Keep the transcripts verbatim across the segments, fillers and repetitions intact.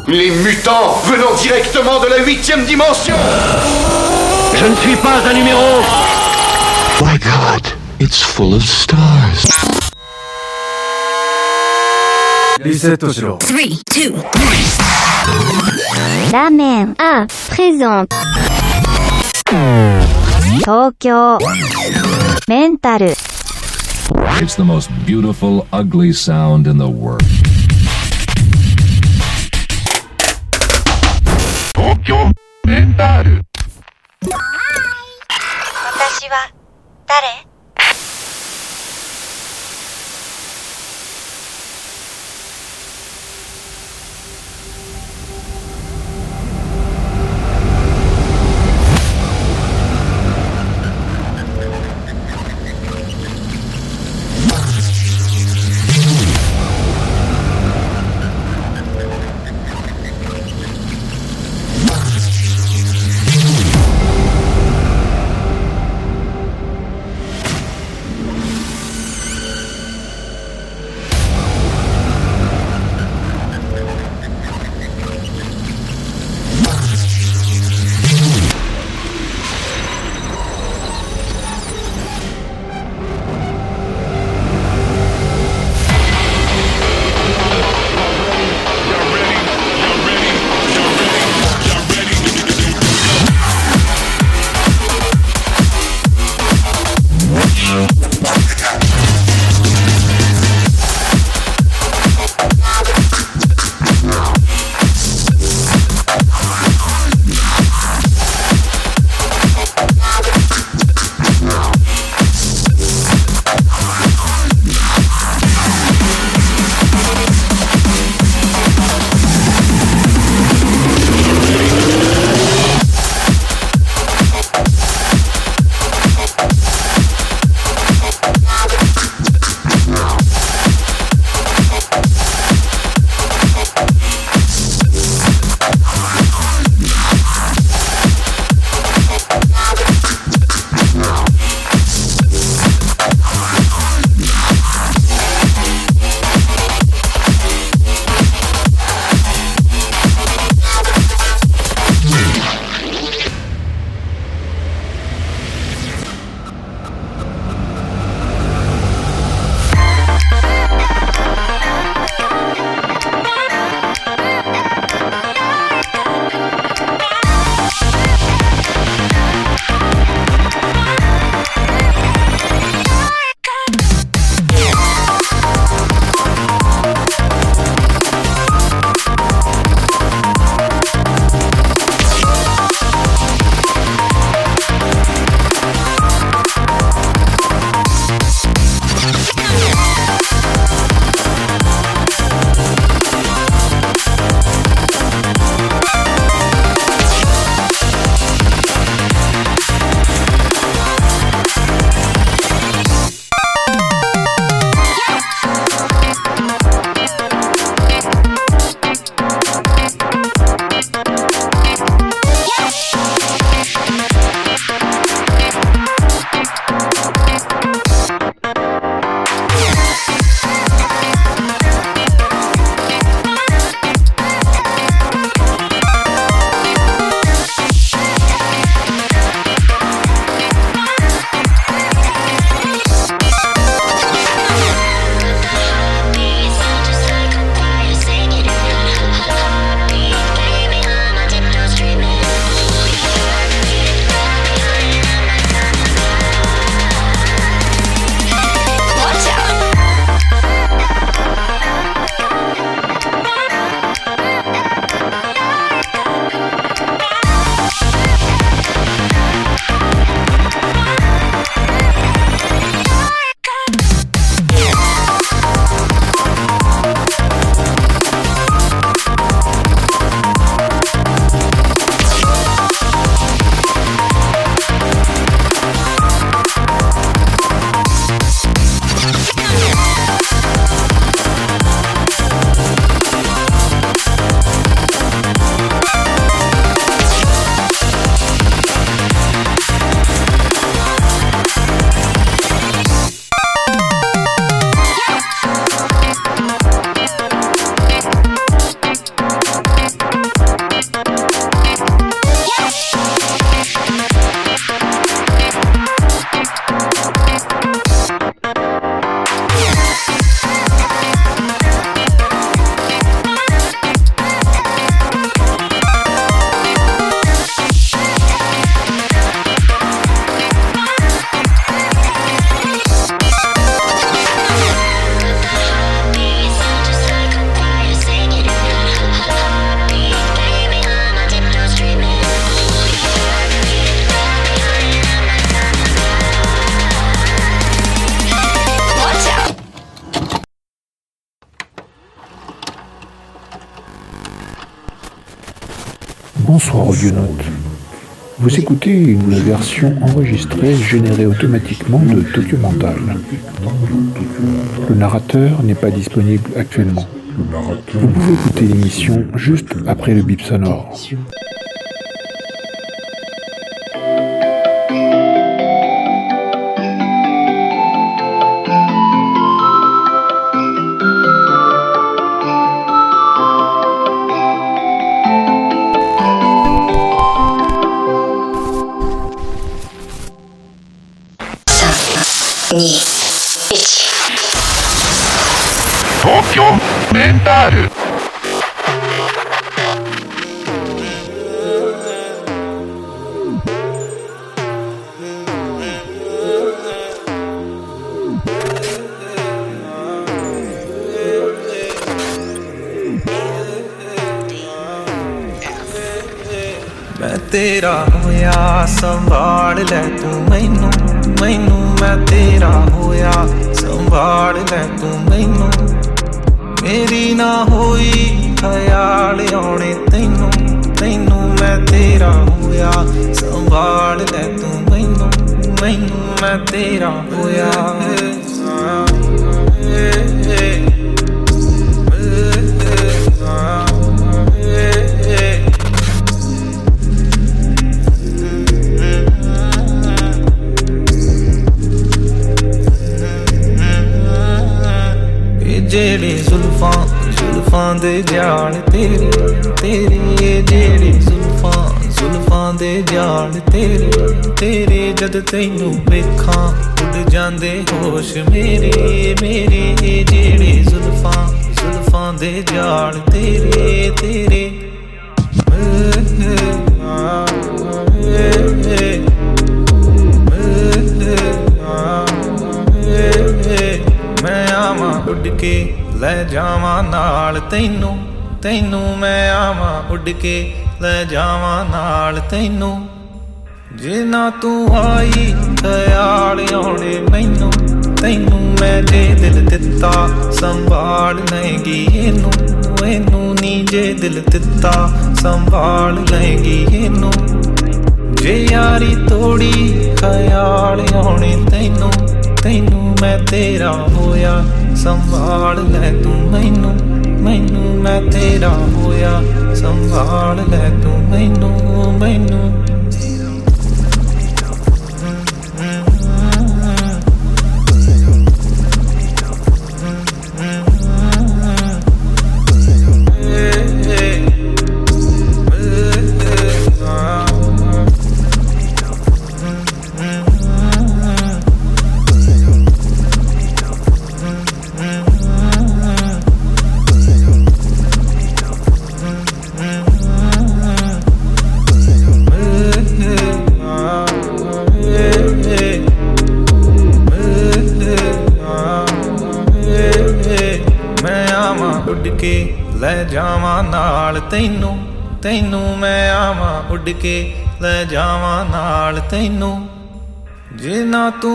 Les mutants venant directement de la huitième dimension. Je ne suis pas un numéro. My God, it's full of stars. Reset Toshiro. three, two, one. ラーメンあprésente東京メンタル It's the most beautiful, ugly sound in the world. 東京メンタル。 私は誰？ Bonsoir audionautes. Vous écoutez une version enregistrée générée automatiquement de Tokyo Mental. Le narrateur n'est pas disponible actuellement. Vous pouvez écouter l'émission juste après le bip sonore. Tokyo Mental. मैं तेरा होया संभाल ले तू मैनू मैनू मैं तेरा होया संभाल ले तू मैनू मेरी ना होई ख्याल आने तैनू तैनू मैं तेरा होया संभाल ले तू मैनू मैनू मैं तेरा होया जेड़ी जुल्फां जुल्फां दे जाल तेरी तेरी जेड़ी जुल्फां जुल्फां दे जाल तेरी तेरे जद तैनू वेखां उड़ जांदे होश मेरे मेरे जेड़ी जुल्फां जुल्फां दे जाल तेरे तेरे मैं आवां उड़ के ले जावां नाल तैनू तैनू मैं आवां उड़ के ले जावां नाल तैनू जे ना तू आई ख्याल आने मैनू तैनू मैं जे दिल दिता संभाल लेंगी एनू एनू नी जे दिल दिता संभाल लेंगी एनू जे यारी तोड़ी ख्याल आने तैनू तैनू मैं तेरा होया संभाल ले तू मैनू मैनू मैं तेरा होया संभाल ले तू मैनू मैनू ले जावां नाल तैनू तैनू मैं आवां उड़ के ले जावां नाल तैनू जे ना तू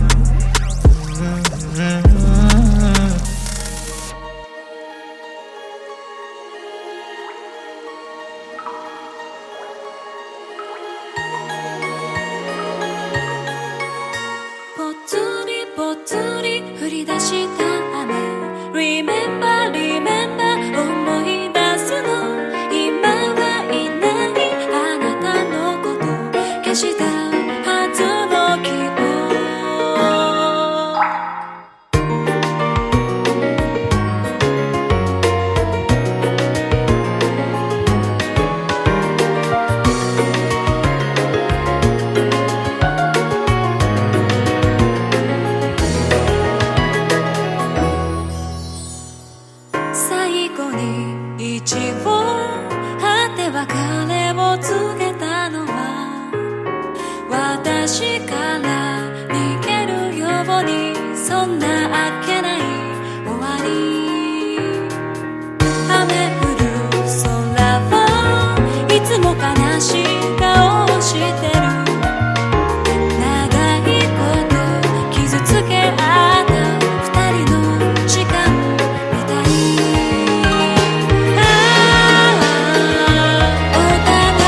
Remember, remember 思い出すの今はいないあなたのこと消したはずの希望最後に一応果て別れを告げたのは私から逃げるようにそんなあっけない終わり雨降る空はいつも悲しい顔をしてる長いこと傷つけ合った二人の時間みたいお互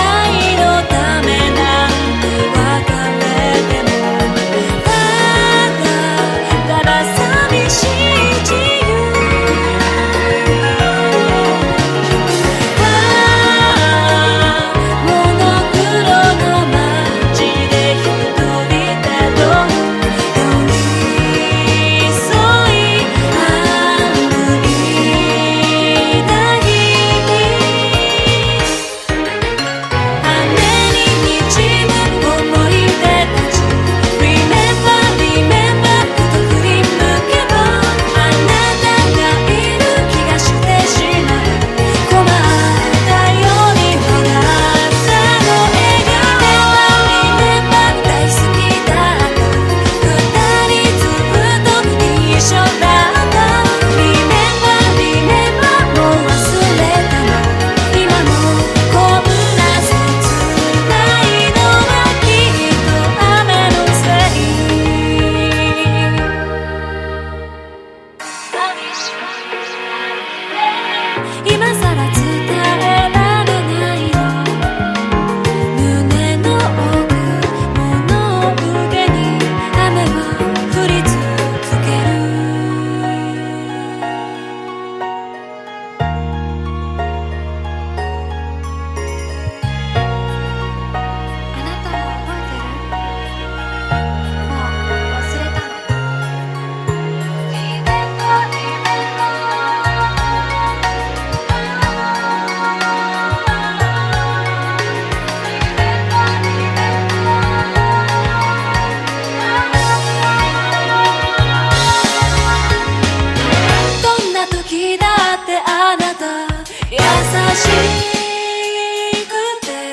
優しくて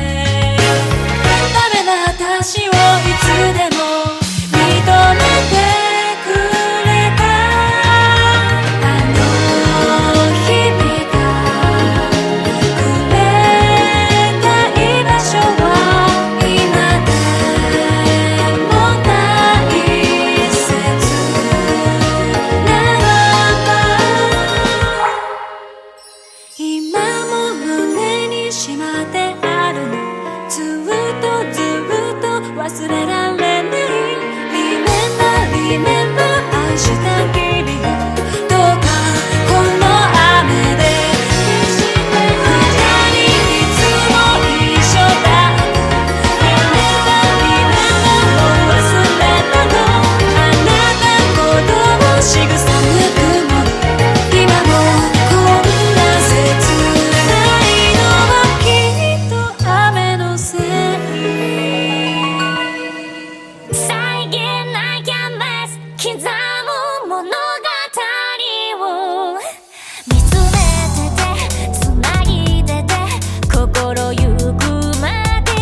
ダメな私をいつでも認めてくれたあの日々がくれた居場所は今でも大切ならば今も胸にしまってあるのずっとずっと忘れられない Remember, remember 愛した日々をどうかこの雨で消して二人いつも一緒だった Remember, remember もう忘れたのあなたことを仕草ぬくもり今もこんな切ないのはきっと雨のせい際限ないキャンバス刻む物語を見つめててつなぎてて心ゆくまで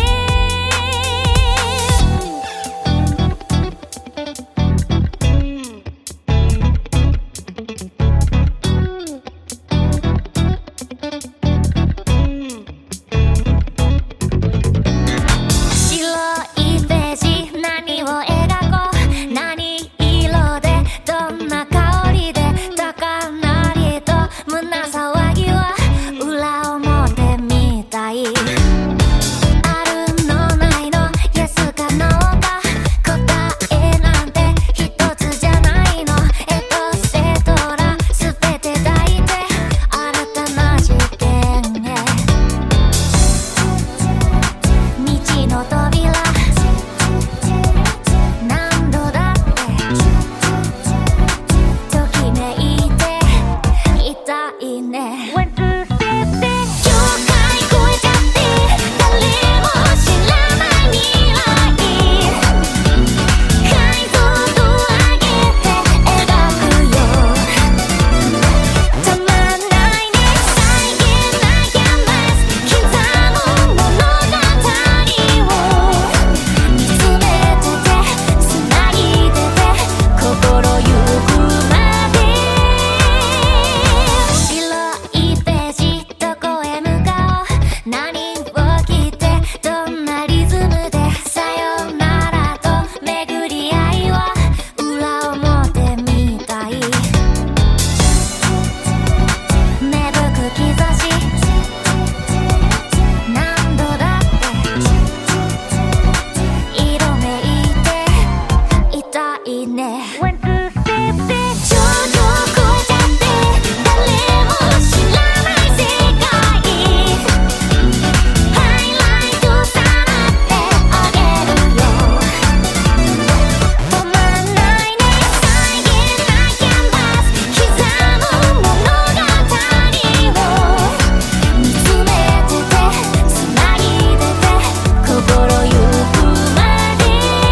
白いページ何を描こう何色でどんな香りで高鳴りと胸騒ぎは裏表みたいあるのないの Yes か No か答えなんて一つじゃないのエトセトラ全て抱いて新たな事件へ道の扉何度だってときめいていたいね境界越えちゃって誰も知らない未来解像度上げて描くよたまんないね際限ないキャンバス刻む物語を見つめててつなぎてて心ゆくまで白いページどこへ向かおう何を着てどんなリズムでさよならと巡り合いは裏表みたい芽吹く兆し何度だって色めいていたいね頂上越えちゃって誰も知らない世界ハイライトさらってあげるよ止まんないね際限ないキャンバス刻む物語を見つめててつなぎてて心ゆくまで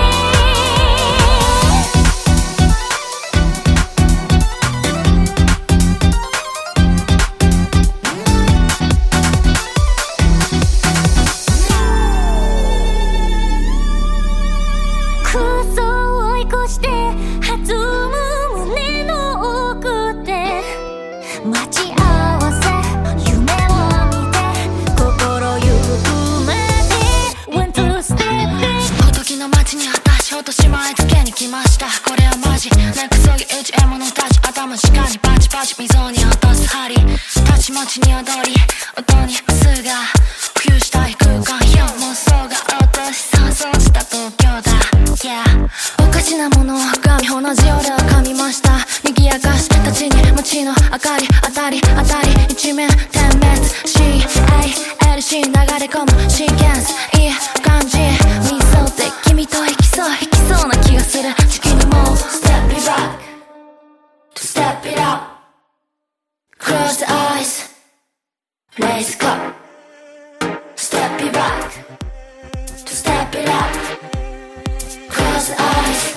空想を追い越して弾む胸の奥で待ち合わせ夢を見て心ゆくまで One two step おとぎの街に私落とし前つけに来ましたこれはマジ根こそぎ打ち獲物たち頭しかにパチパチ溝に落とす針たちまちに踊り音にすが浮遊したい空間よ妄想が落とし想像した東京だ Yeah おかしなものを髪同じ俺は噛みました賑やかし立ちに街の明かり当たり当たり一面点滅 シーエーエルシー 流れ込むシーケンスいい感じ見そうって君と行きそう行きそうな気がする時期にもう Step it back to step it up Close the eyes Raise the cup Step it back to step it up Close the eyes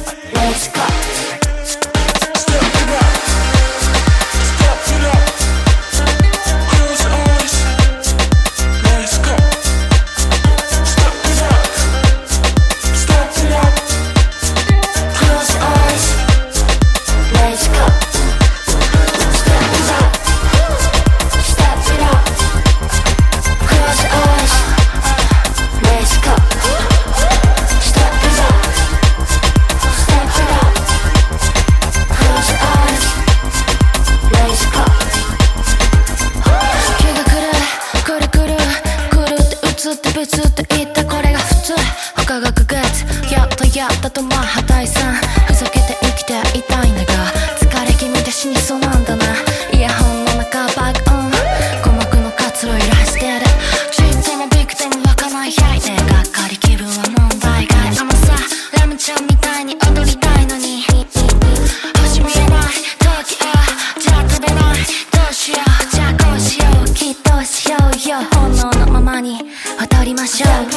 Raise the cup Step it up Step it up 破退さんふざけて生きていたいんだが疲れ気味で死にそうなんだなイヤホンの中爆音鼓膜の活路揺らしてるちっともびくとも湧かないやいでがっかり気分は問題外甘さラムちゃんみたいに踊りたいのに星見えない時はじゃあ飛べないどうしようじゃあこうしようきっとしようよ本能のままに踊りましょう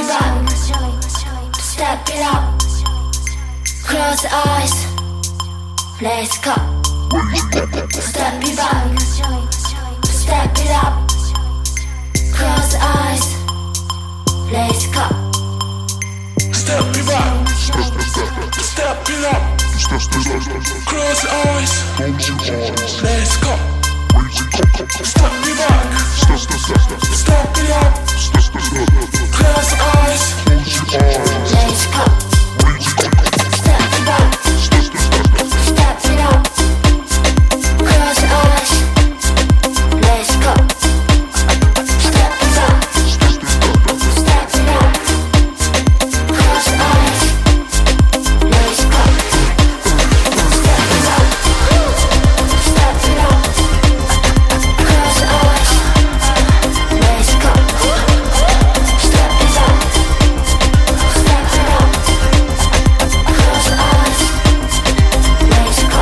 Step it up Close the eyes Let's go Step it back Step it up Close the eyes Let's go Step it back Step it up Close the eyes Let's go Step it back Step it up Close the eyes Let's go Step it back Step it up Close your eyes Let's go Step it back Step it up Close your eyes Let's go Step it up Step it up Close your eyes Let's go Step it up Step it up Close your eyes Let's go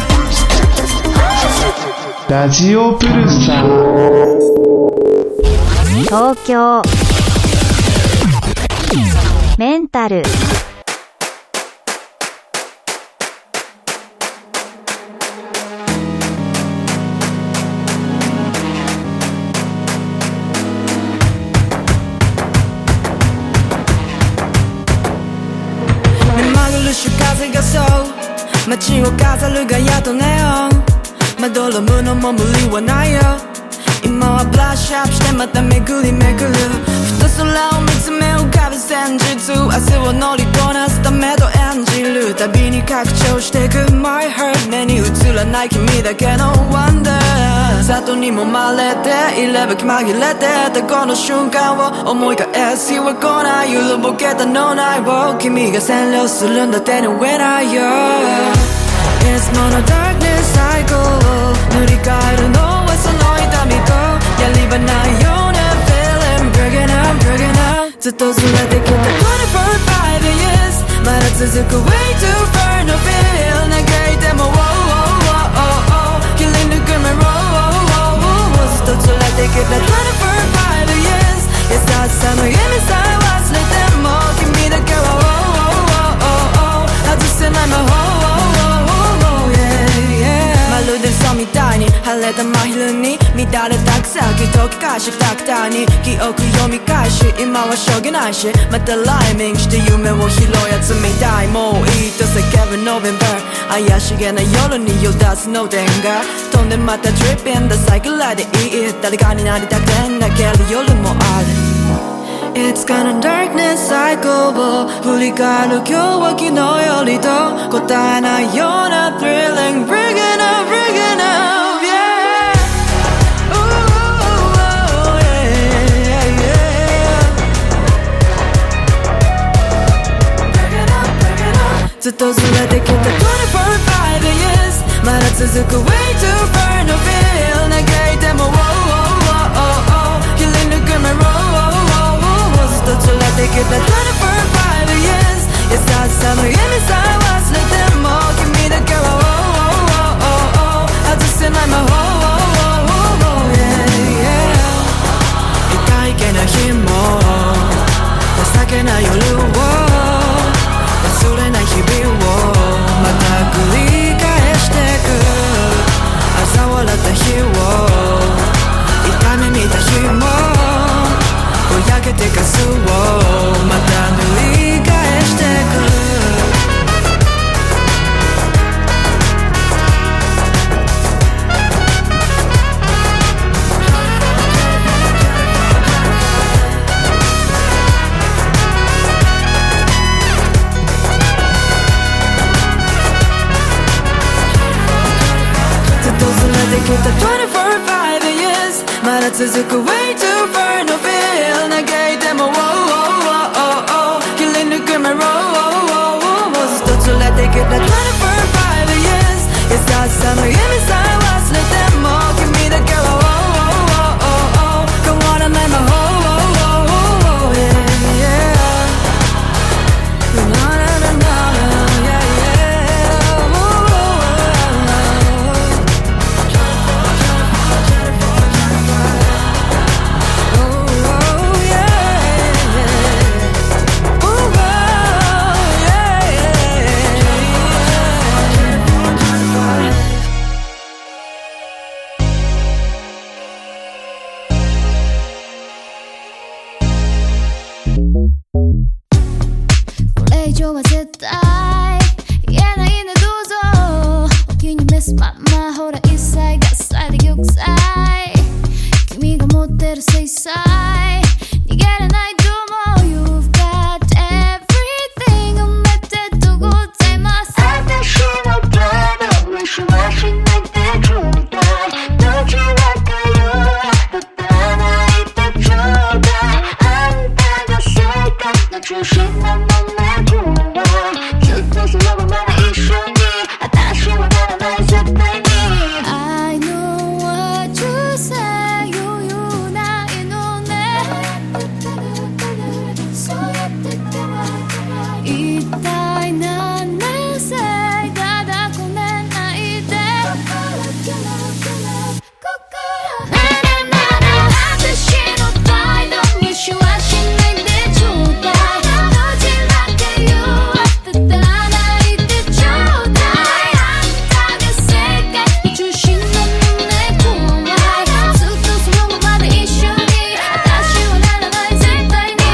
ラジオプルサー東京メンタル目まぐるし風がそう街を飾るガヤとネオンまどろむのも無理はないよ今はブラッシュアップしてまた巡り巡るふと空を見つめ浮かぶ戦術明日を乗りこなすためと演じる旅に拡張していく My heart 目に映らない君だけの Wonder 里にもまれていれば気紛れてたこの瞬間を思い返す日は来ない揺るぼけた脳内を君が占領するんだ手に負えないよいつもの darkness cycle を塗り替えるのはその痛みとやり場ないような feeling breaking up breaking up ずっとずれてきた twenty-four five years まだ続く way too far no feel 嘆いても oh oh oh oh 切り抜く目 oh oh oh ずっとずれてきた twenty-four five years 優しさの意味さえ忘れても君だけは oh oh oh oh 外せない魔法まるで嘘みたいに晴れた真昼に乱れた草木解き返しタクターに記憶読み返し今はしょうがないしまたライミングして夢を拾うやつみたいもういいと叫ぶ November 怪しげな夜によ出すの電が飛んでまた Tripping ダサいくらいでいい誰かになりたくて泣ける夜もあるいつかの darkness cycle を振り返る今日は昨日よりと答えないような thrilling bringing up bringing up yeah ooh, ooh, yeah, yeah, yeah. Bringing up, bringing up ずっとずれてきた twenty-four five years まだ続く way too far no feel 嘆いても oh oh oh oh 切り抜く目 ohずっと連れてきた twenty-four five years 優しさの意味さえ忘れても君だけは oh oh oh oh 外せない魔法 yeah, yeah 痛いけな日も情けない夜を忘れない日々をまた繰り返してく嘲笑った日を痛み見た日もぼやけてかすをまた塗り返してくずっとずれてきた twenty-four five years まだ続く way too far no feel 嘆いても oh oh oh oh 切り抜く目 oh oh oh oh ずっと連れですまんまほら一切合切で玉砕君が持ってる制裁逃げれないと思う You've got everything 埋めてとございます私のため無視はしないでちょうだいどちらかよ立たないでちょうだいあんたが世界の中心なのね今はずっとそのままで一緒に私はならない絶対に I know what you say 余裕ないのねそうやってては一体何年生ただこねないで心ねえねえねえ私の態度無視はしないでちょうだいどちらか言う当てたらないでちょうだいあんたが世界の中心なのね怖いずっとそのままで一緒に私はならない絶対に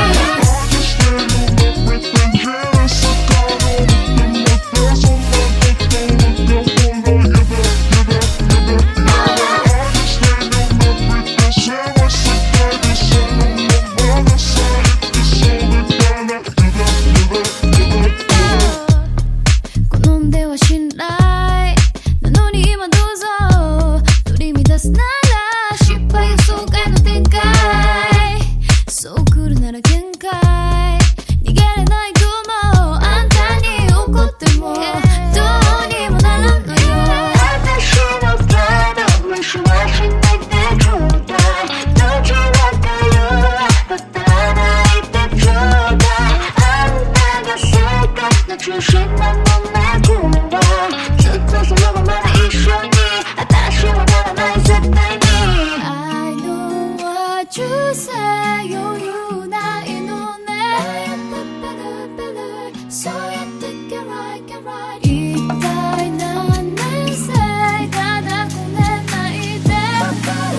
好んでは信頼なのに今どうぞ取り乱すなら失敗予想外の展開そう来るなら限界逃げれないと思うあんたに怒ってもどうにもならんのよ私の態度無視はしないでちょうだいどちらかよ立たないでちょうだいあんたが世界の中心なのね今はずっとそのままで一緒に私はならない絶対に I know what you say 余裕ないのねそうやって get right get right 一体何年生ただこねないで心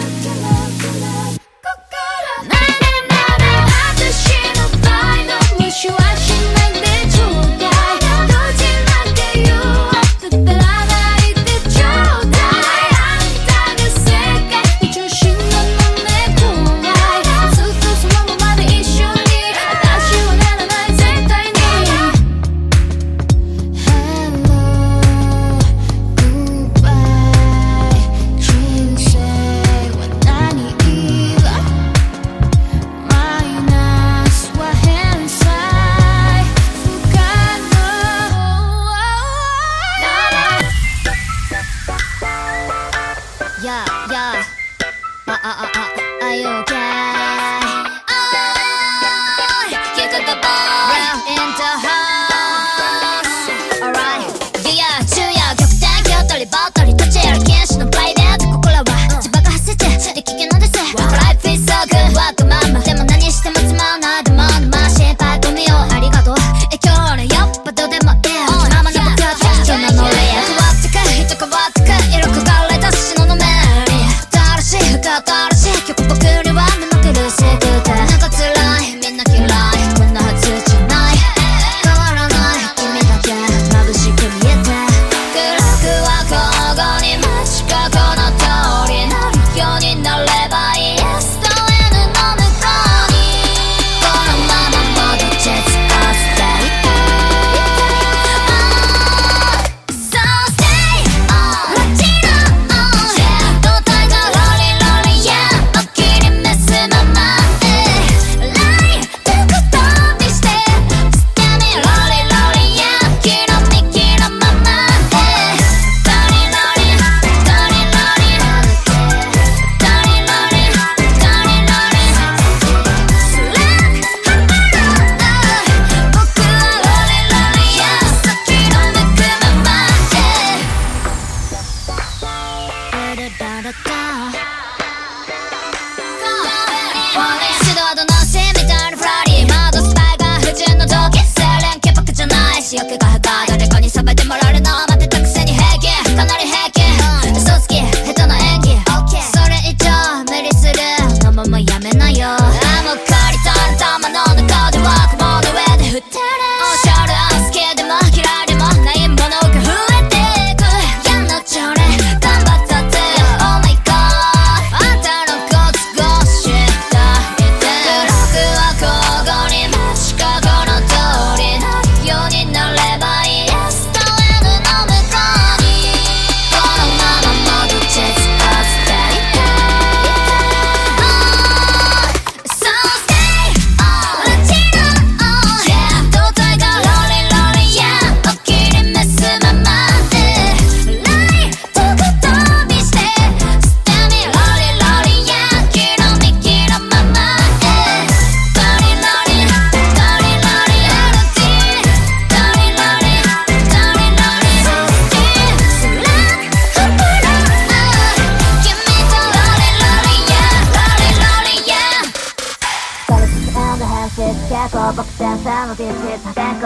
ねえねえねえ私の態度無視はしないでちょうだいどちらか言う当てたらないでちょうだいあんたが世界の中心なのね怖いずっとそのままで一緒に私はならない絶対に Hello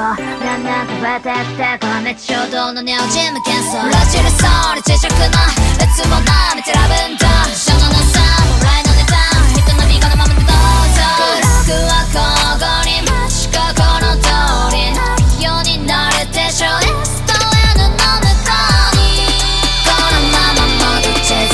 だんだん増えてってこの熱衝動のネオジム喧騒ラジルソール磁石の列もなめてラブンドシャノのサムライのネタ人の身がのままでどうぞグラフは交互に真四角の通りなるようになるでしょう S と N の向こうにこのまま戻っちゃう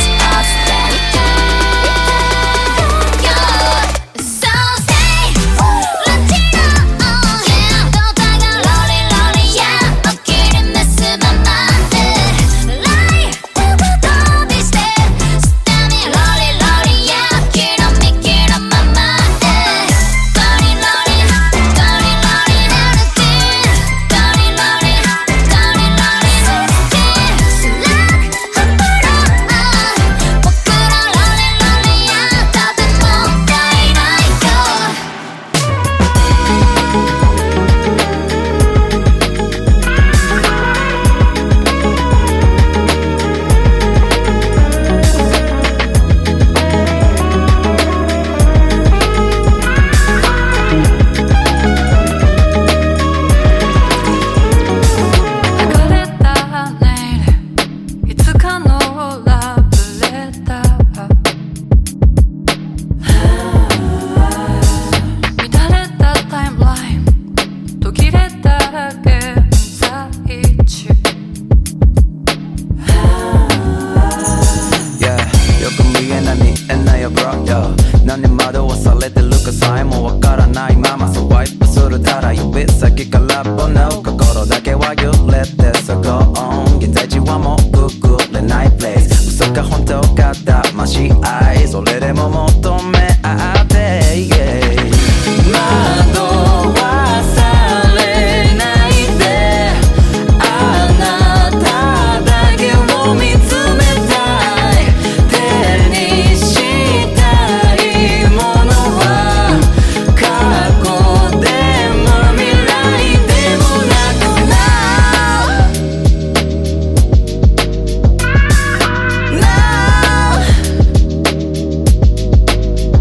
No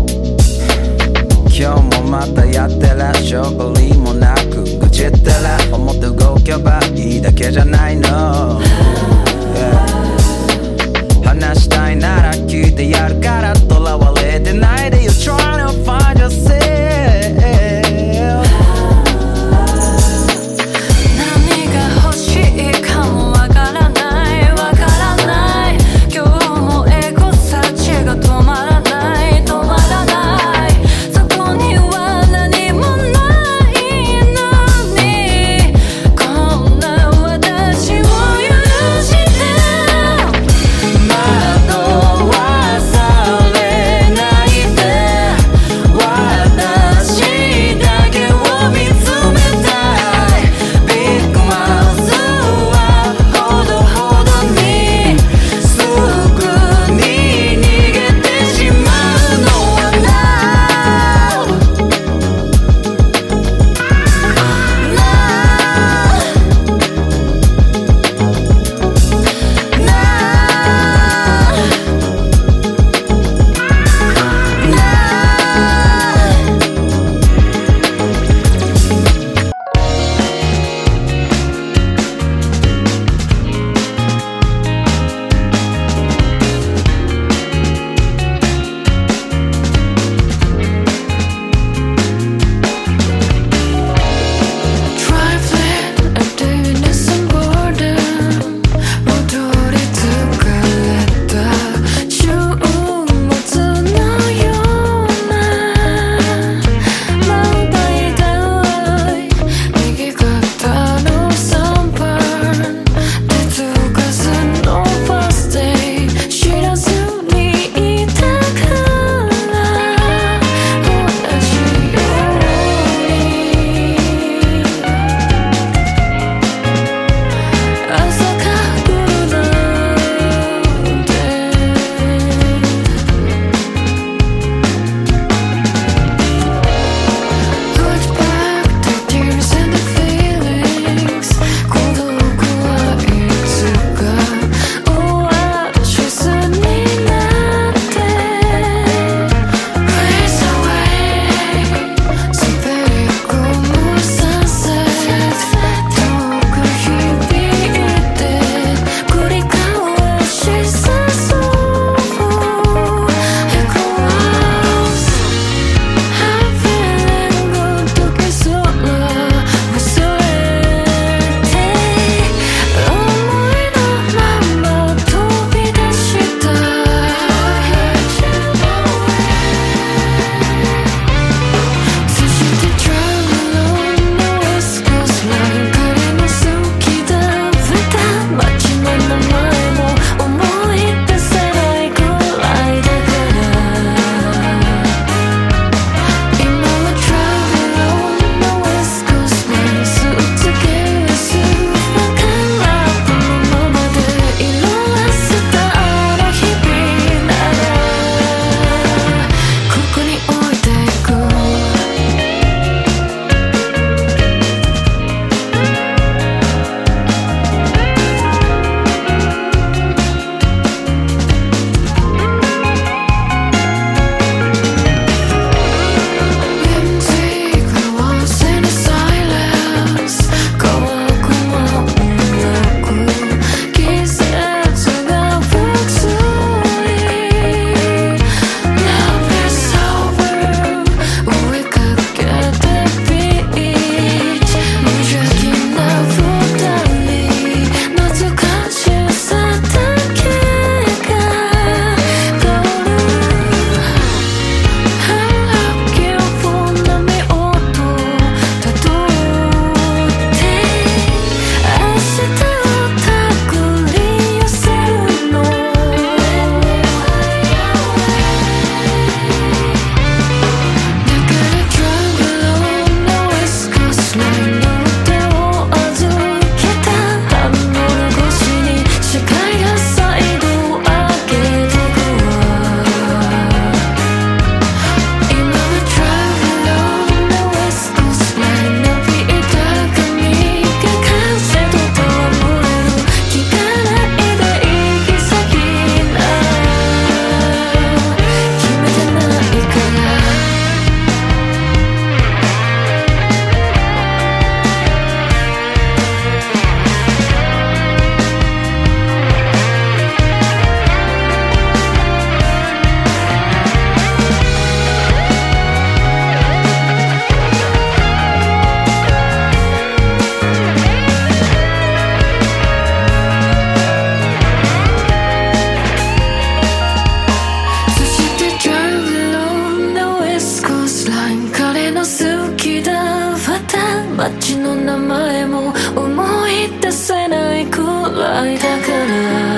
ないくらいだから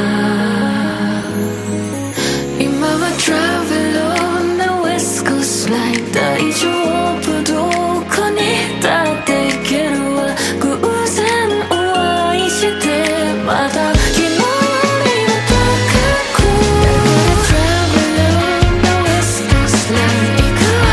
今は Traveler on the West Coast Line 大丈夫どこにだって行けるわ偶然お会いしてまた昨日よりも高く Traveler on the West Coast Line 行くわ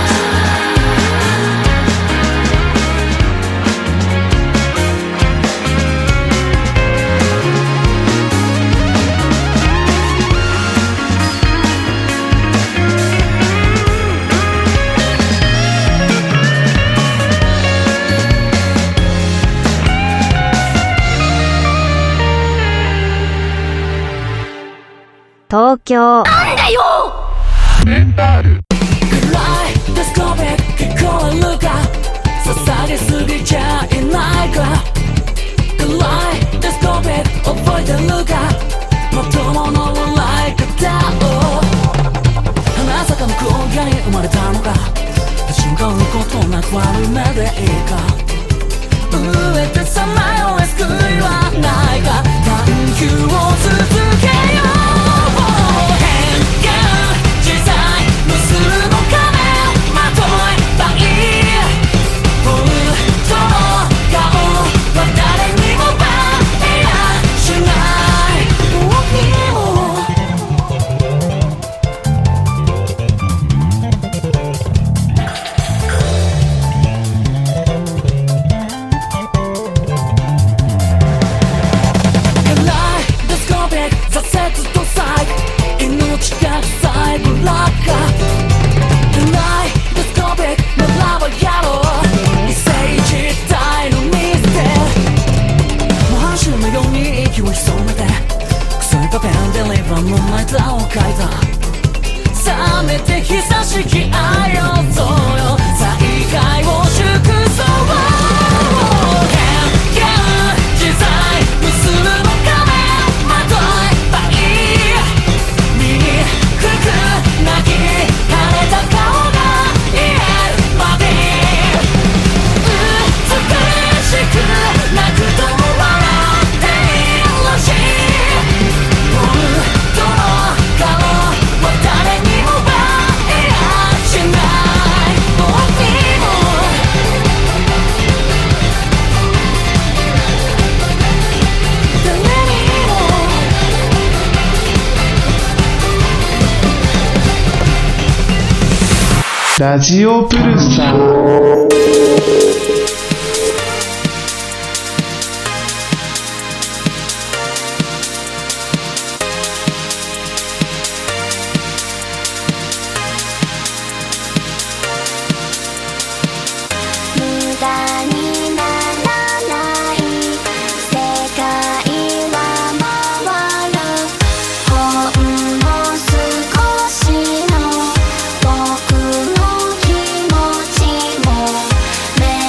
東京なんだよ暗いデスコベ聞こえるか捧げすぎちゃいないか暗いデスコベ覚えてるかまともの笑い方を花坂の郊外に生まれたのか瞬間のことなく悪い目でいいか飢えてさまよえ救いはないか探求を続けよう冷めて久しき愛をそうよ再会を祝そう変幻自在結ぶの仮面まとえばいい醜く泣き腫れた顔が癒えるまで美しく泣くとも笑っているらしい本当の顔は誰にもバレやしない僕にも誰にもラジオプルサー僕の気持ちも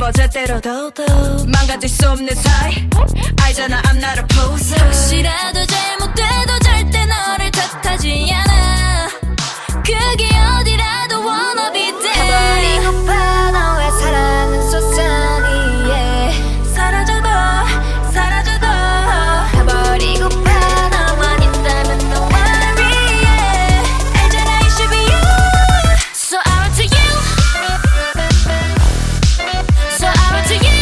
뭐 제대로 망가질 수 없는 사이 알잖아 I'm not a poser 혹시라도 잘못돼도 절대 너를 탓하지 않아 그게 어디라도 wanna be there 해버리고파 너의 사랑은 소산이에 사라져도 사라져도 해버리고파 너만 있다면 no worry yeah. 알잖아 it should be you So I run to you So I run to you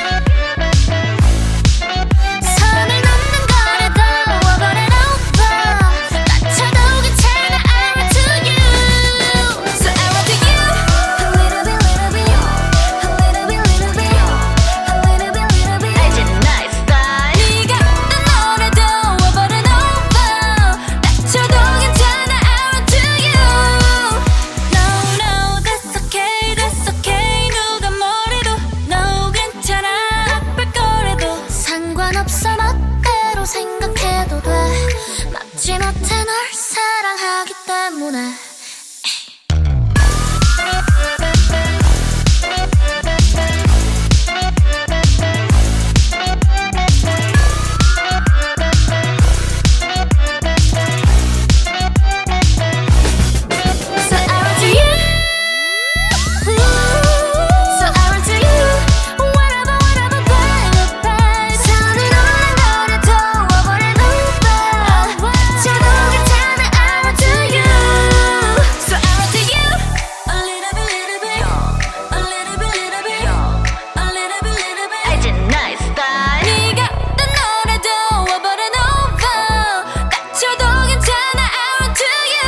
선을 넘는 거라도 over and over 다쳐도 괜찮아 I run to you So I run to you A little bit, little bit A little bit, little bit A little bit, little bit 알지 나의 스타일 네가 어떤 노래도 over and over 다쳐도 괜찮아 I run to you No, no, that's okay, that's okay 누가 뭐래도 No, 괜찮아 아플 거래도 상관없어 멋대로 생각해도 돼 막지 못해 널 사랑하기 때문에 So I run to you So I run to you Whatever, whatever, baby, baby 선을 넘는 거라도 over and over 다쳐도 괜찮아 I run to you So I run to you A little bit, little bit A little bit, little bit A little bit, little bit 알지 나의 스타일 네가 어떤 노래도 over and over 다쳐도 괜찮아 I run to you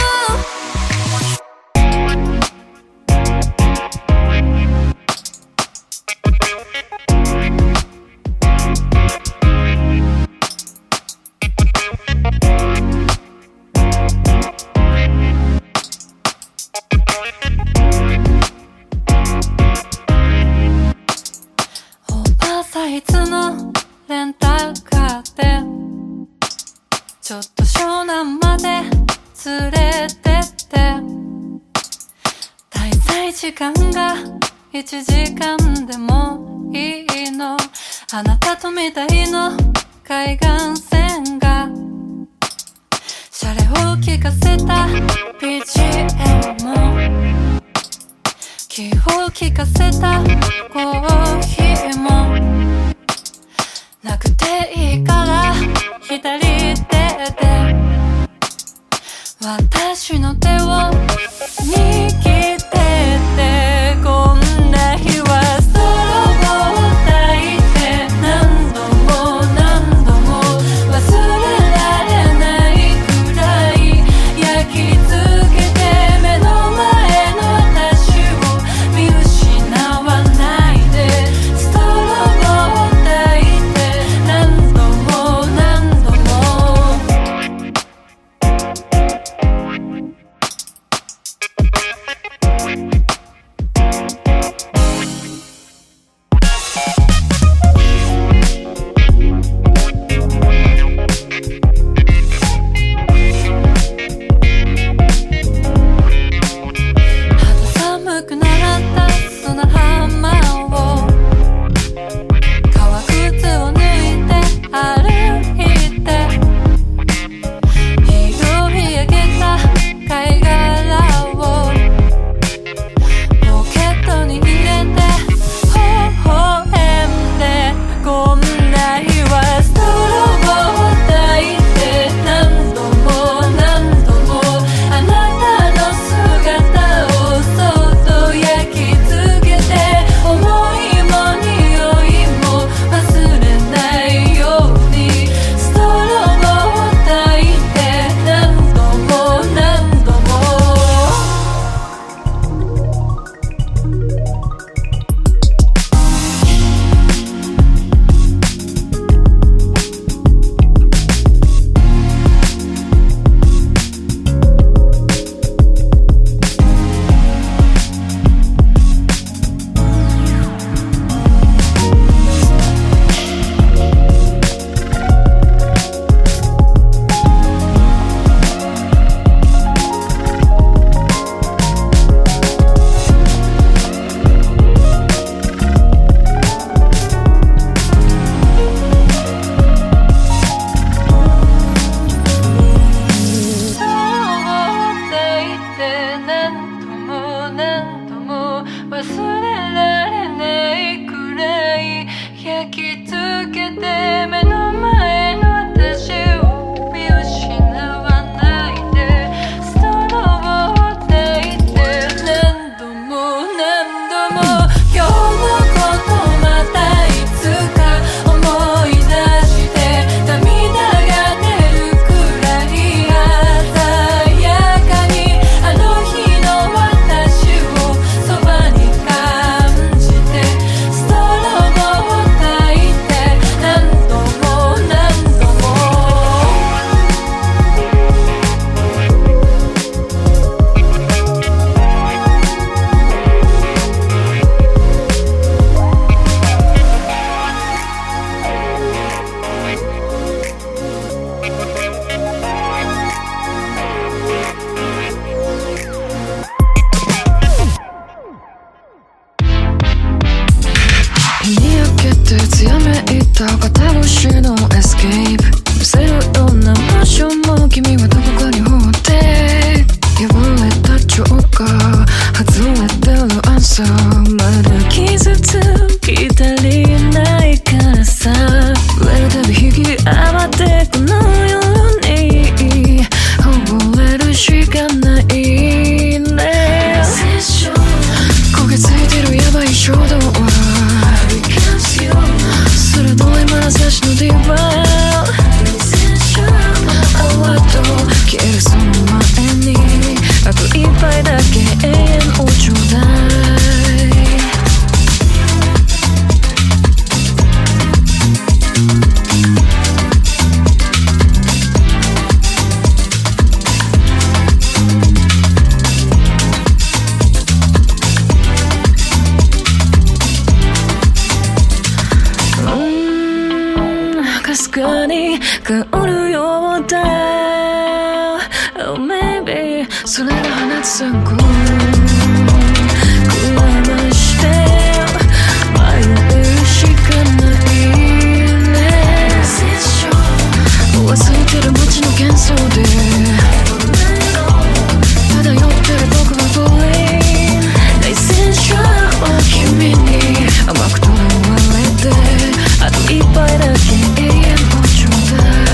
オーバーサイズのレンタルカーでちょっと湘南まで連れてって滞在時間がいちじかんでもいいのあなたとみたいの海岸線がシャレを聞かせた ビージーエム 気を利かせたコーヒーもなくていいから左手で私の手を握っててこんな日はソロを抱いて何度も何度も忘れられないくらい焼き付けて目の前の私を見失わないでストローを抱いて何度も何度もかかるようだ Oh maybe それが放つ参考くらまして迷うしかないね忘れてる街の幻想で漂ってる僕はボーリン内戦車は君に甘くとらわれてあと一杯だけ永遠をちょうだい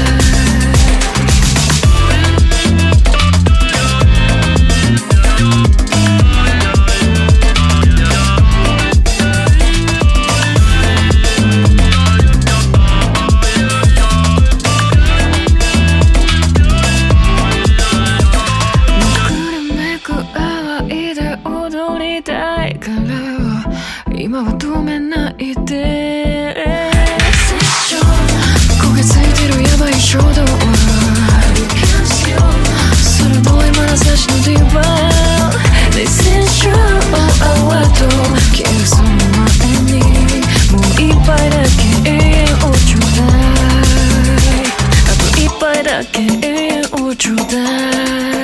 今は止めないで焦げついてるヤバい衝動鋭い眼差しのディーバー内戦車を泡と消えるその前にもう一杯だけ永遠をちょうだいあと一杯だけ永遠をちょうだい